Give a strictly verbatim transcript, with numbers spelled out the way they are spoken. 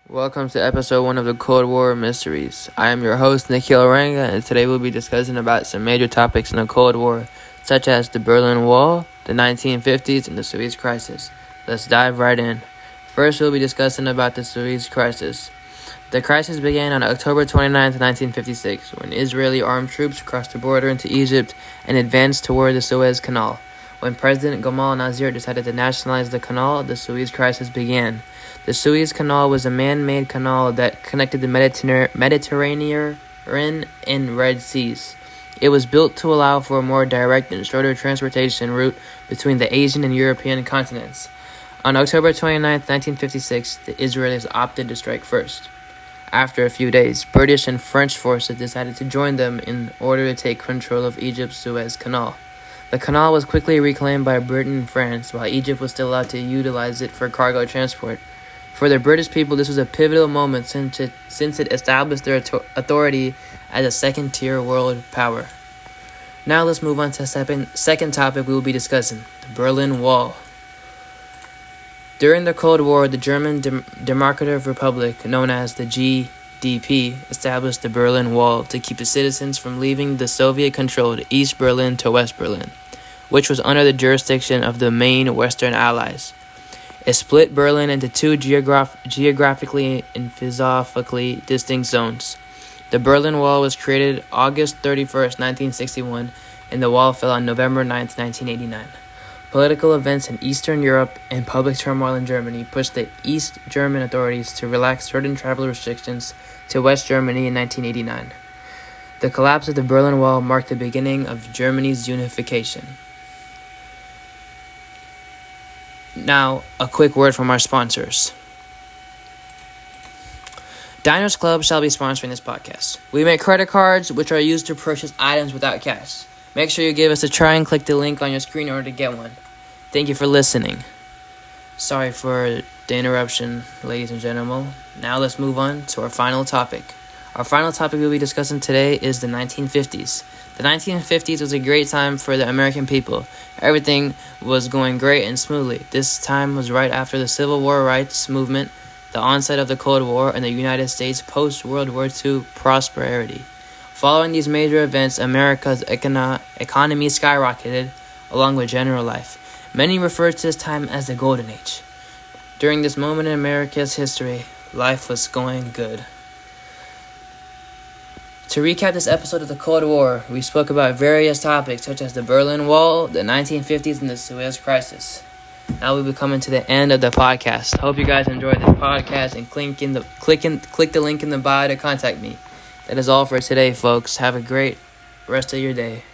Welcome to episode one of the Cold War Mysteries. I am your host, Nikhil Oranga, and today we'll be discussing about some major topics in the Cold War, such as the Berlin Wall, the nineteen fifties, and the Suez Crisis. Let's dive right in. First, we'll be discussing about the Suez Crisis. The crisis began on October twenty-ninth, nineteen fifty-six, when Israeli armed troops crossed the border into Egypt and advanced toward the Suez Canal. When President Gamal Nasser decided to nationalize the canal, the Suez Crisis began. The Suez Canal was a man-made canal that connected the Mediterranean Mediterranean and Red Seas. It was built to allow for a more direct and shorter transportation route between the Asian and European continents. On October twenty-ninth, nineteen fifty-six, the Israelis opted to strike first. After a few days, British and French forces decided to join them in order to take control of Egypt's Suez Canal. The canal was quickly reclaimed by Britain and France, while Egypt was still allowed to utilize it for cargo transport. For the British people, this was a pivotal moment since it, since it established their authority as a second-tier world power. Now let's move on to the second, second topic we will be discussing, the Berlin Wall. During the Cold War, the German Dem- Democratic Republic, known as the G D P, established the Berlin Wall to keep the citizens from leaving the Soviet-controlled East Berlin to West Berlin, which was under the jurisdiction of the main Western Allies. It split Berlin into two geograph- geographically and philosophically distinct zones. The Berlin Wall was created August thirty-first, nineteen sixty-one, and the wall fell on November ninth, nineteen eighty-nine. Political events in Eastern Europe and public turmoil in Germany pushed the East German authorities to relax certain travel restrictions to West Germany in nineteen eighty-nine. The collapse of the Berlin Wall marked the beginning of Germany's unification. Now, a quick word from our sponsors. Diners Club shall be sponsoring this podcast. We make credit cards, which are used to purchase items without cash. Make sure you give us a try and click the link on your screen in order to get one. Thank you for listening. Sorry for the interruption, ladies and gentlemen. Now let's move on to our final topic. Our final topic we'll be discussing today is the nineteen fifties. The nineteen fifties was a great time for the American people. Everything was going great and smoothly. This time was right after the Civil War rights movement, the onset of the Cold War, and the United States post-World War Two prosperity. Following these major events, America's econo- economy skyrocketed, along with general life. Many refer to this time as the Golden Age. During this moment in America's history, life was going good. To recap this episode of the Cold War, we spoke about various topics such as the Berlin Wall, the nineteen fifties, and the Suez Crisis. Now we'll be coming to the end of the podcast. Hope you guys enjoyed this podcast and click in the click in, click the link in the bio to contact me. That is all for today, folks. Have a great rest of your day.